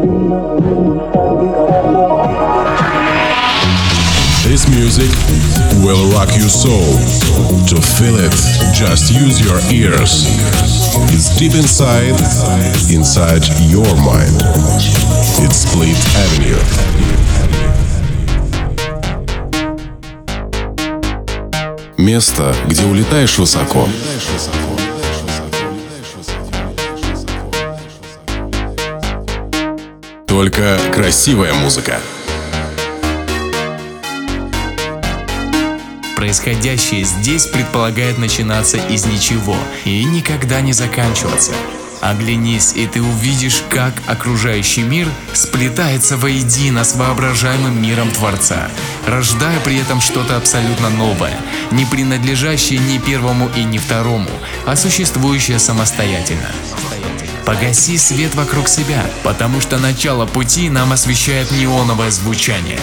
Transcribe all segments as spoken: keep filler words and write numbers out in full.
This music will rock your soul. To feel it, just use your ears. It's deep inside, inside your mind. It's Split Avenue. Место, где улетаешь высоко. Только красивая музыка. Происходящее здесь предполагает начинаться из ничего и никогда не заканчиваться. Оглянись, и ты увидишь, как окружающий мир сплетается воедино с воображаемым миром Творца, рождая при этом что-то абсолютно новое, не принадлежащее ни первому и ни второму, а существующее самостоятельно. Погаси свет вокруг себя, потому что начало пути нам освещает неоновое звучание.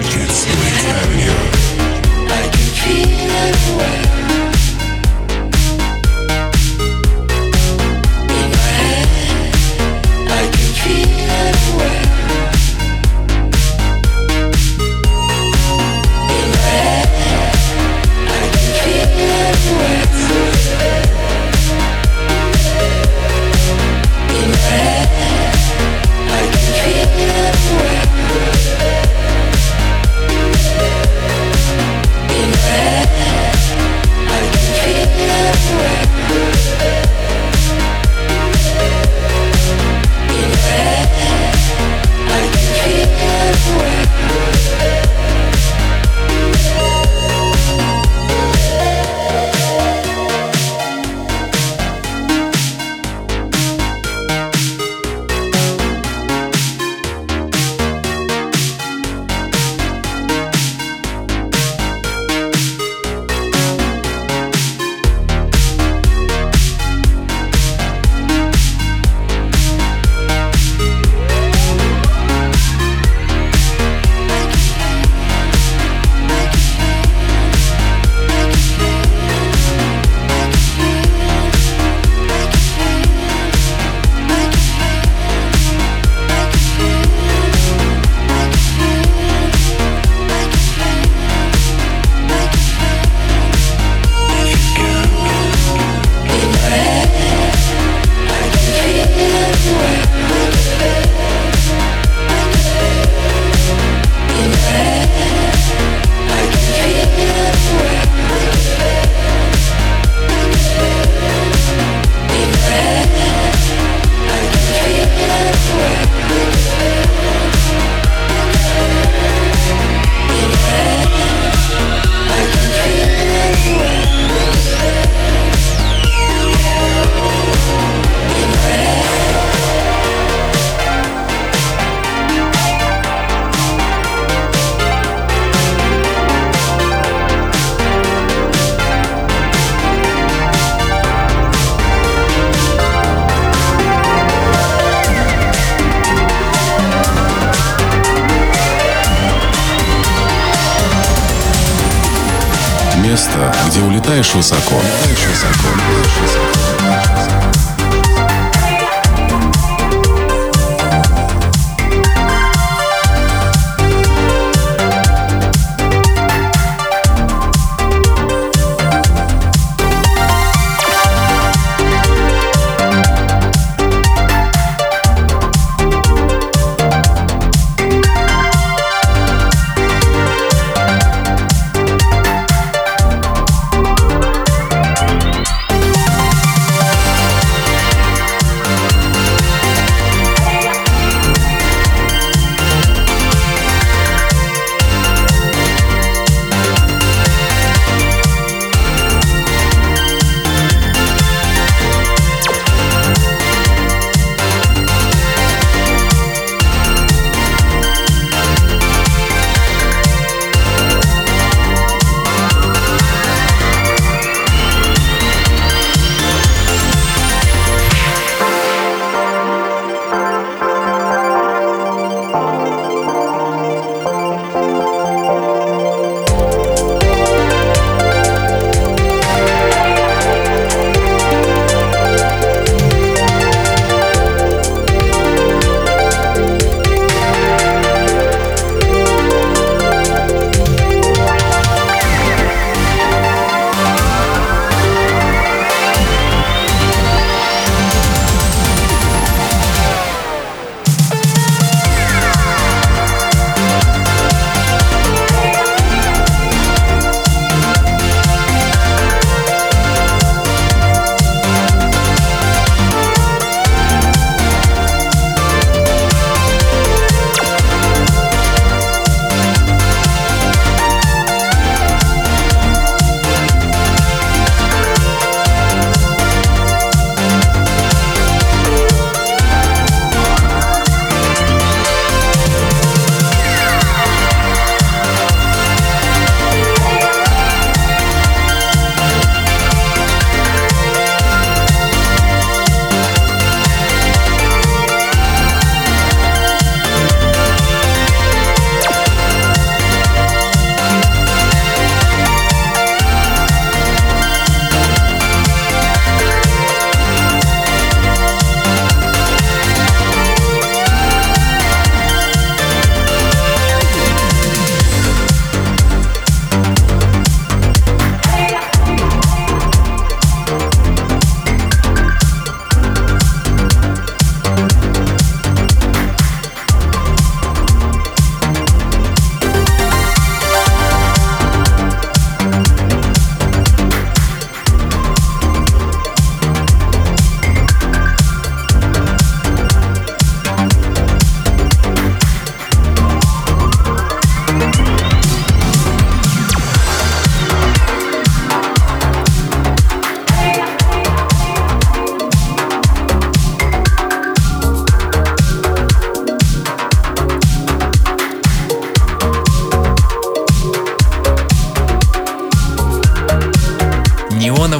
Место, где улетаешь высоко. Улетаешь высоко, улетаешь высоко.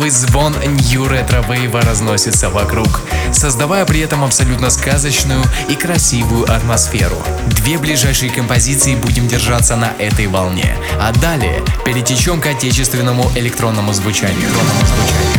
неистовый звон New Retro Wave разносится вокруг, создавая при этом абсолютно сказочную и красивую атмосферу. Две ближайшие композиции будем держаться на этой волне, а далее перетечем к отечественному электронному звучанию. Электронному звучанию.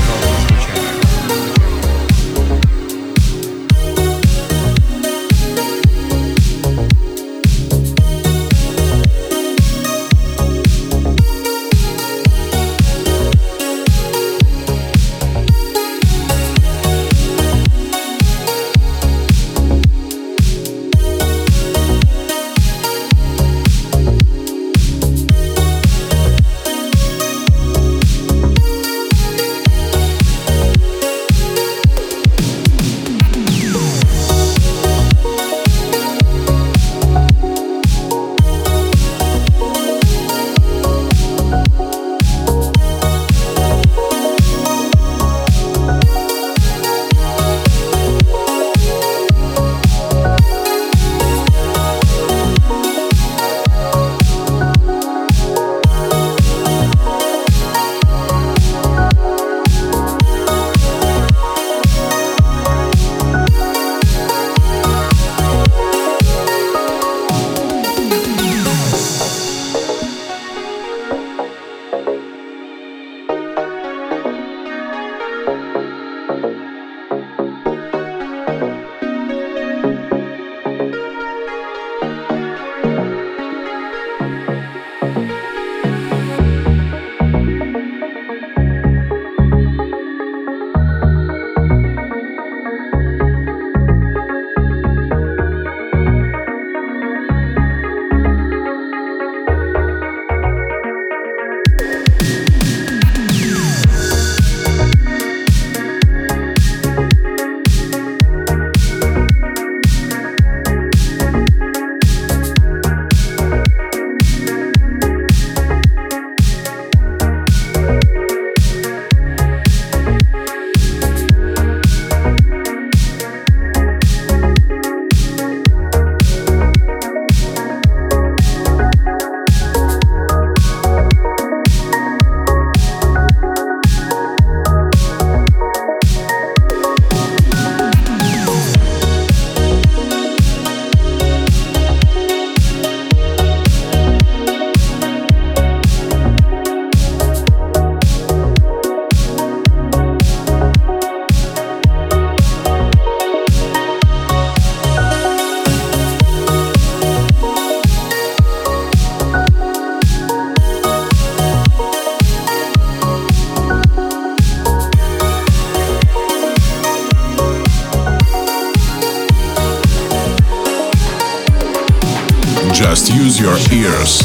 Just use your ears.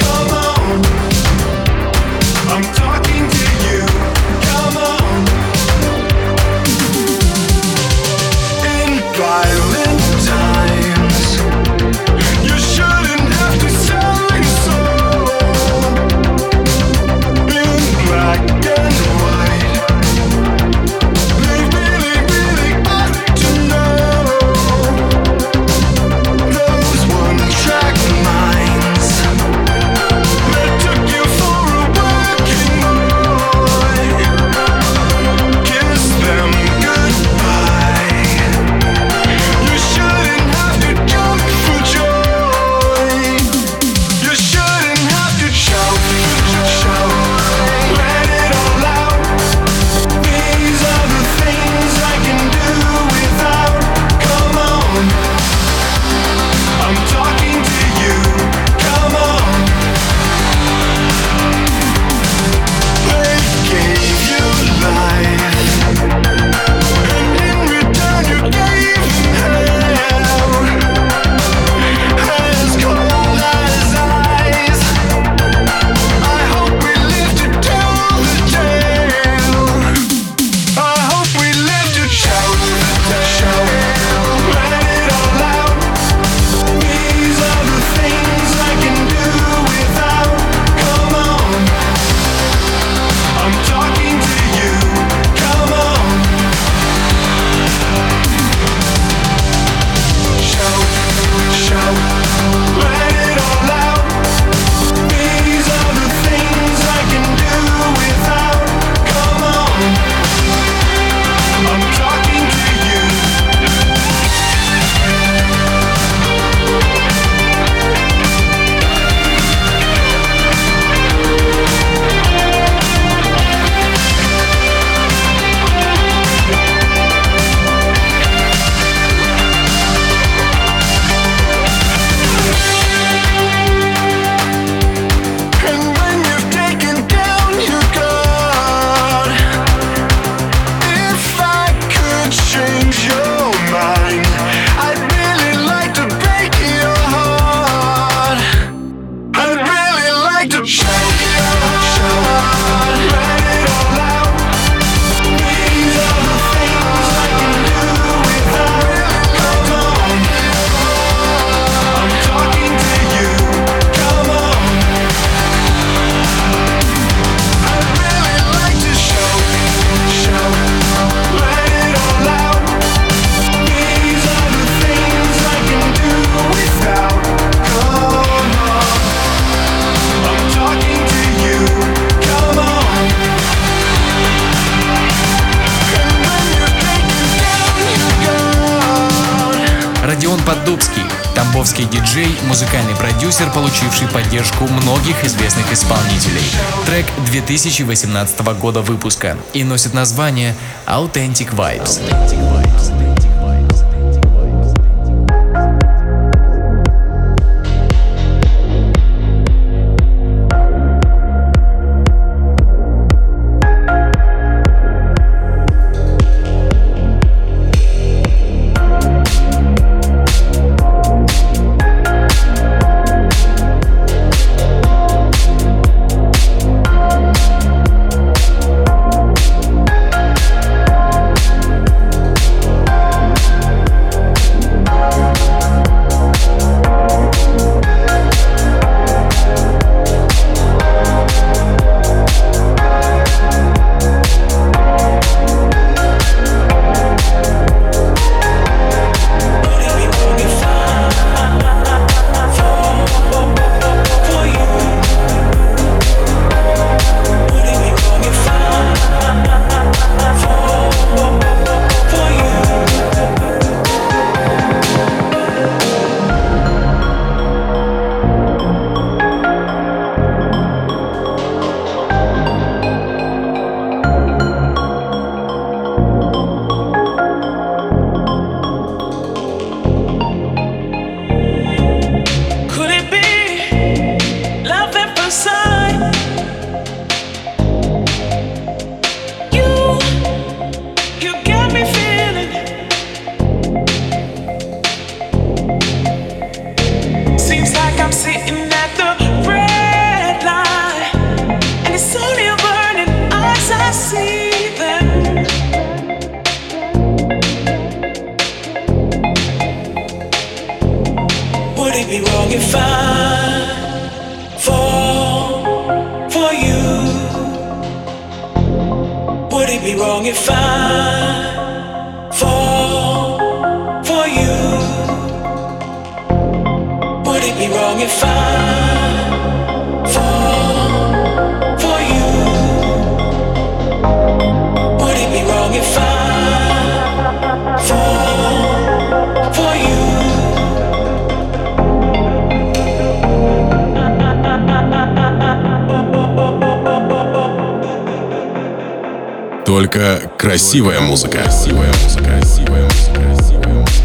I'm talking to you. Come on. Дубский, тамбовский диджей, музыкальный продюсер, получивший поддержку многих известных исполнителей. Трек две тысячи восемнадцатого года выпуска и носит название Authentic Vibes. Только красивая музыка. Красивая музыка. Красивая музыка. Красивая музыка.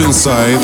inside.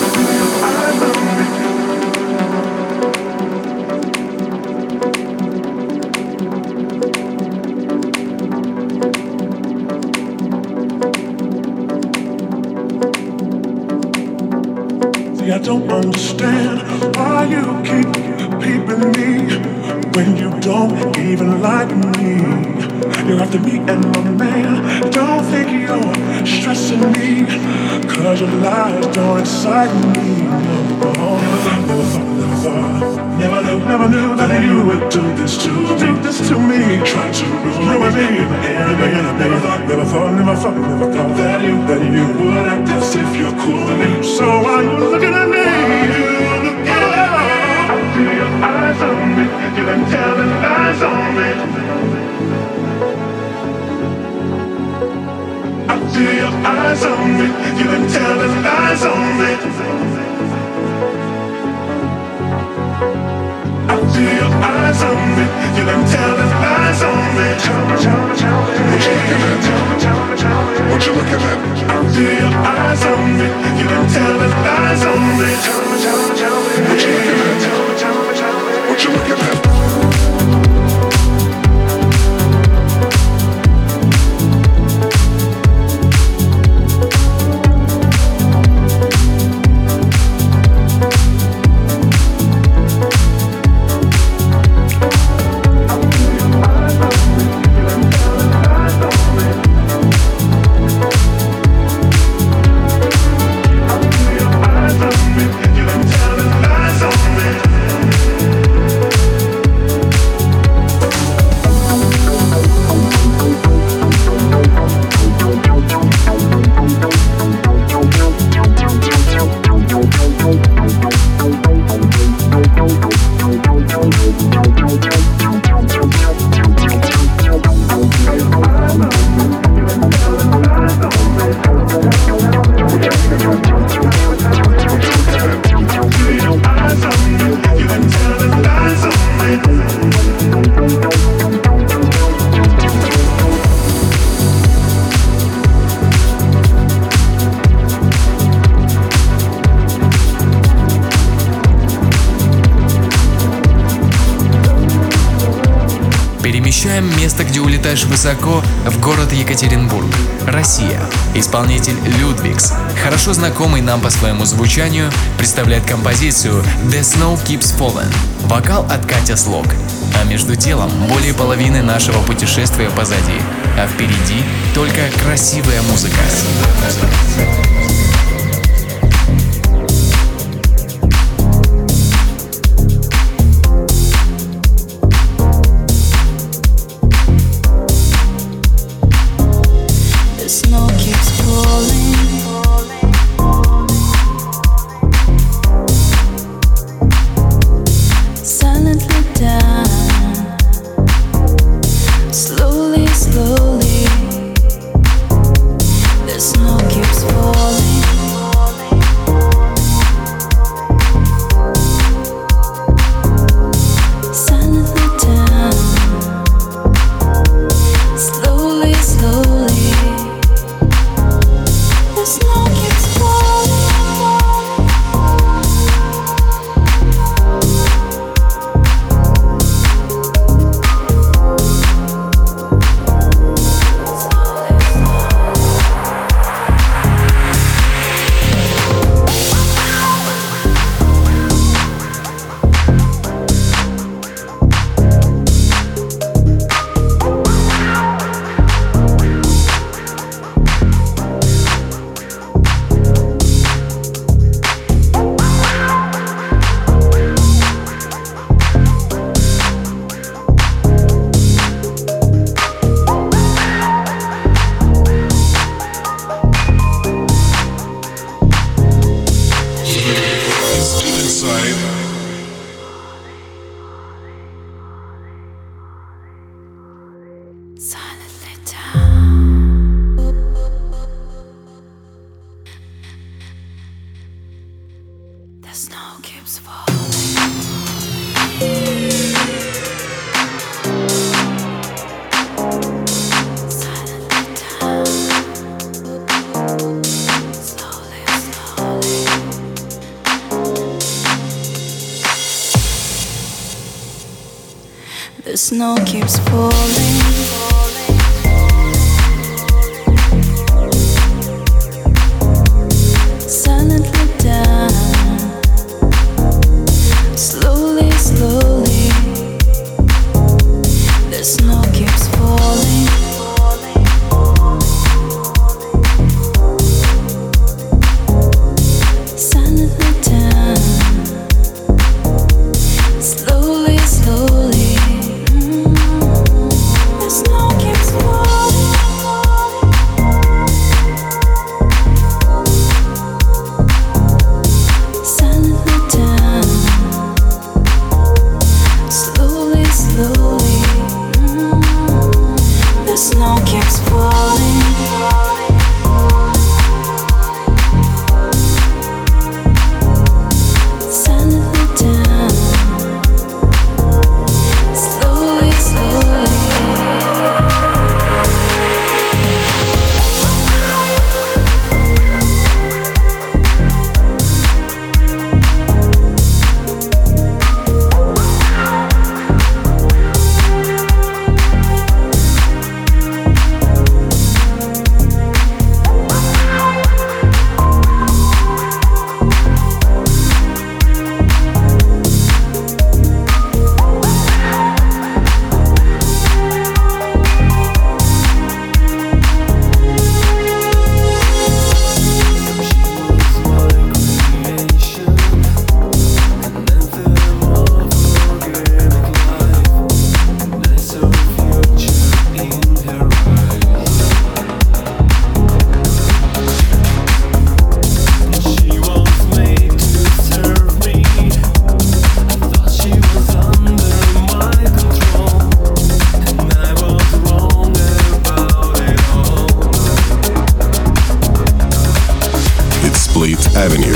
See, I don't understand why you keep peeping me when you don't even like me. You're after me and my man. Don't think you're stressing me, cause your lies don't excite me. No, never thought, never thought, never knew, never knew that you would do this to do this to me. Try to ruin me. Never, never thought, never thought, never thought, never thought that you, that you would act as if you're cool with me. So why you looking at me? I see your eyes on me. You've been telling lies on me. I see your eyes on me. You've been telling lies on me. I see your eyes on me. You've been telling lies on me. What you looking at? What you looking at? I see your eyes on me. You've been telling lies on me. What you looking at? What you looking at? Перемещаем место, где улетаешь высоко, в город Екатеринбург, Россия. Исполнитель Людвигс, хорошо знакомый нам по своему звучанию, представляет композицию «The Snow Keeps Falling». Вокал от Катя Слог. А между делом более половины нашего путешествия позади, а впереди только красивая музыка. snow keeps falling. Silently down, slowly, slowly, the snow keeps falling. Silently down, slowly, slowly, mm, the snow keeps falling. Silently down, slowly, slowly, mm, the snow keeps falling. Silently down, slowly, slowly. Split Avenue.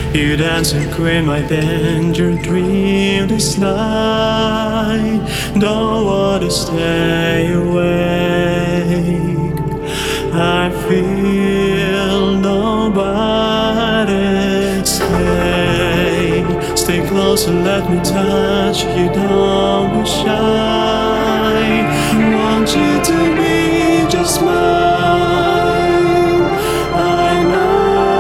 You dance a queen my danger dream this night. Don't wanna stay awake. I feel nobody. Stay, stay close and let me touch you. Don't be shy. Want you to be just mine. I know.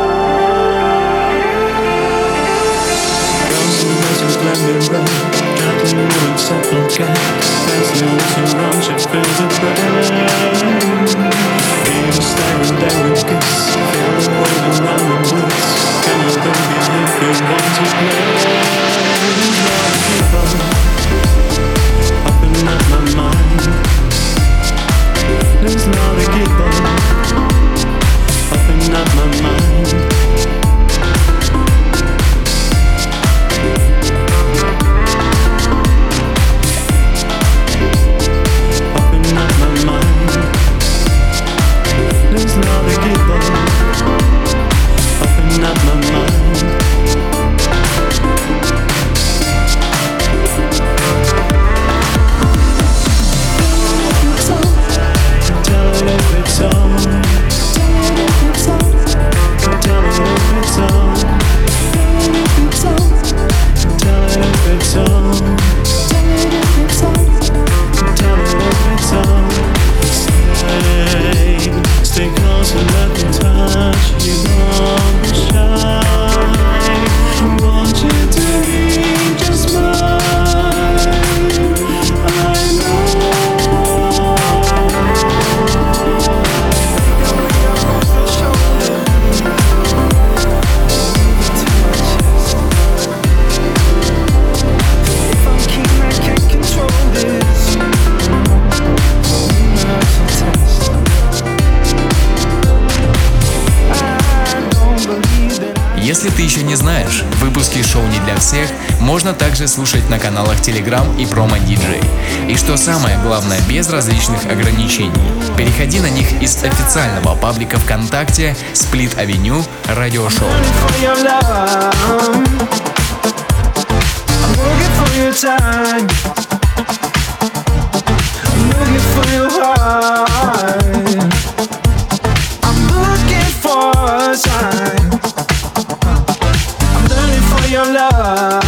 Simple gaps, there's no to run, she feels the brain. Even staring there with kiss, feel the way around the woods. Can you baby if you want to play? There's not people popping up my mind. There's not a people popping up my mind. There's not a giver open up my mind. Tell it if it's on. Tell it if it's on. Tell it if it's on. Tell it if it's on. Stay, stay close and let me touch you. Don't be shy. I want you to be just mine. I know. If I'm king, I can't control this. Если ты еще не знаешь, выпуски шоу «Не для всех» можно также слушать на каналах Telegram и Promo ди джей. И что самое главное, без различных ограничений. Переходи на них из официального паблика ВКонтакте Split Avenue Radio Show. Your love,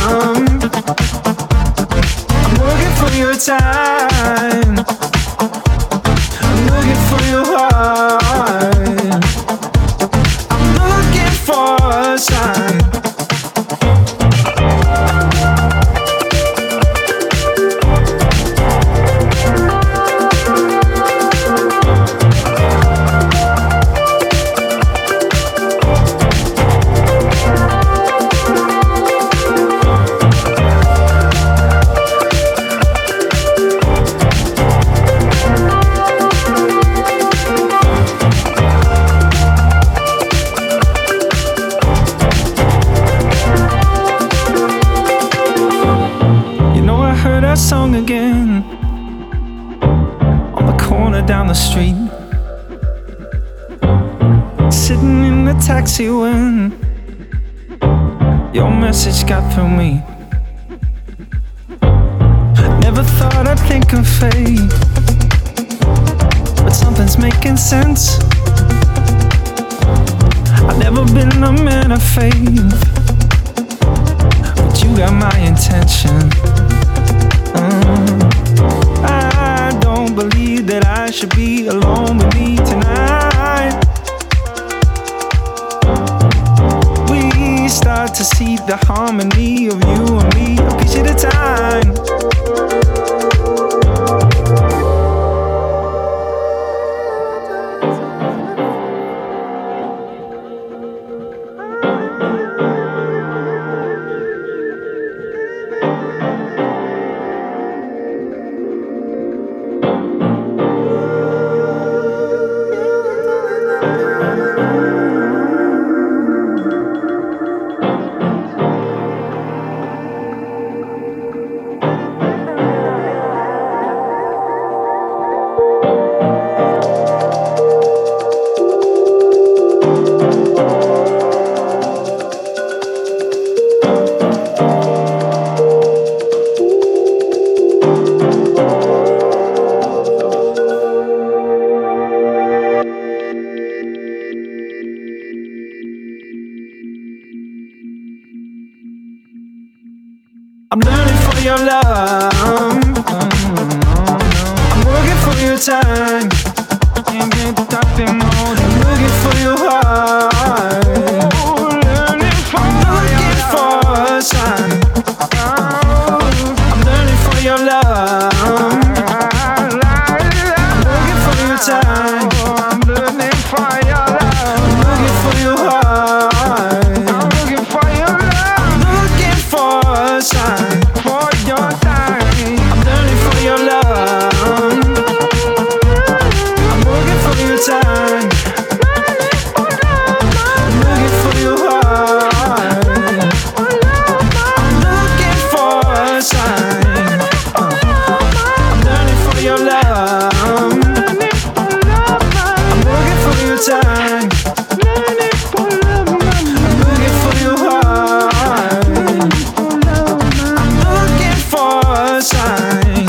I'm looking for your time. I'm looking for your heart. I'm looking for a sign. Song again on the corner down the street, sitting in the taxi when your message got through me. Never thought I'd think of fate, but something's making sense. I've never been a man of faith, but you got my intention. Mm. I don't believe that I should be alone with me tonight. We start to see the harmony of you and me a piece at a time. your love. I'm looking for your time. I'm looking for your heart. I'm looking for a sign. I'm learning for your love. I'm looking for your time. I'm looking for your love. I'm looking for your heart. I'm looking for your love. I'm looking for a sign for your time. I'm learning for your love. I'm looking for your time. I'm looking for your heart. I'm looking for a sign. I'm learning for your love. I'm looking for your time. I'm looking for your heart. I'm looking for a sign.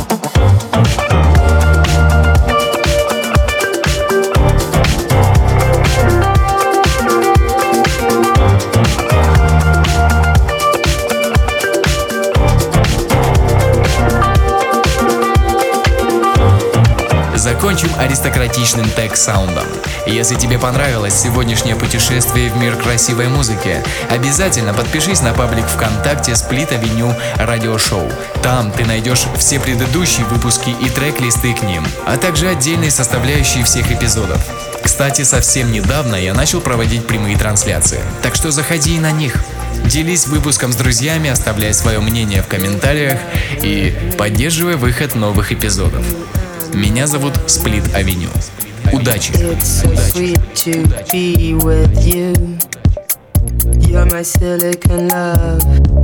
Закончим аристократичным тег-саундом. Если тебе понравилось сегодняшнее путешествие в мир красивой музыки, обязательно подпишись на паблик ВКонтакте Split Avenue Radio Show. Там ты найдешь все предыдущие выпуски и трек-листы к ним, а также отдельные составляющие всех эпизодов. Кстати, совсем недавно я начал проводить прямые трансляции, так что заходи и на них. Делись выпуском с друзьями, оставляй свое мнение в комментариях и поддерживай выход новых эпизодов. Меня зовут Split Avenue. Удачи! It's so sweet to be with you. You're my silicon love.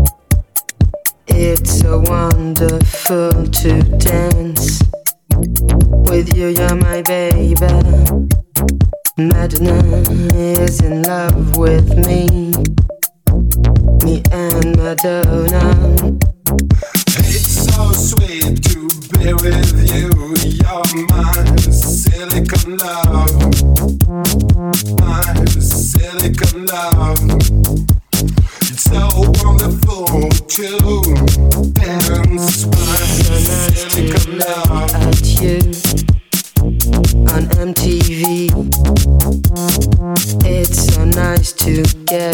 It's so wonderful to dance with you. You're my baby. Madonna is in love with me. Me and Madonna. It's so sweet to be with you. You're my silicon love. My silicon love. It's so wonderful to dance. My silicon love. At you on M T V. It's so nice to get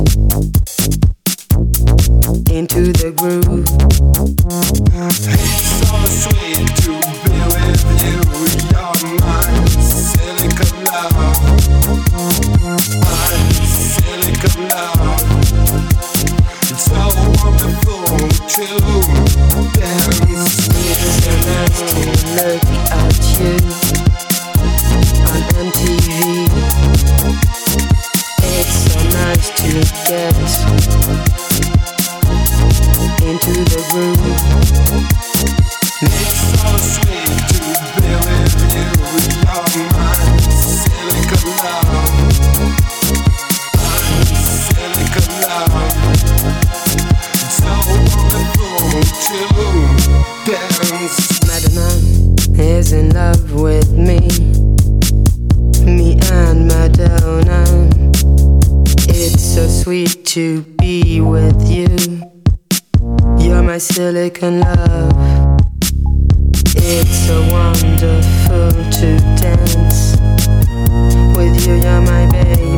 into the groove. It's so sweet to be with you. You're my silicon love. My silicon love. It's so wonderful to dance. It's so nice to look at you on M T V. It's so nice to get into the groove. It's so sweet to be with you. You're my silicon love. My silicon love. It's so wonderful to dance. Madonna is in love with me. Me and Madonna. It's so sweet to be with you. You're my silicon love. It's so wonderful to dance with you. You're my baby.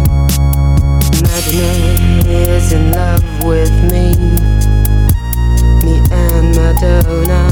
Madonna is in love with me. Me and Madonna.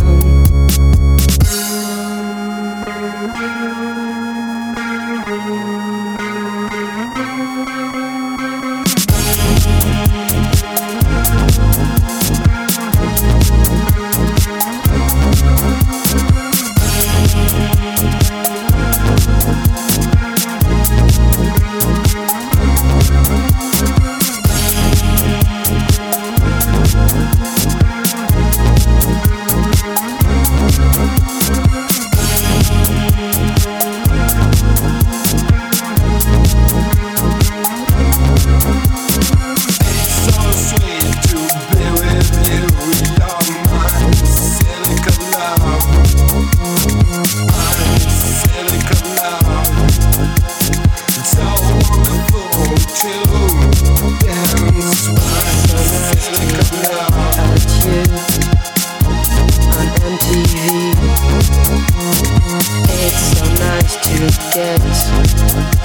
Dance, dance, dance, dance, dance, dance, dance, get.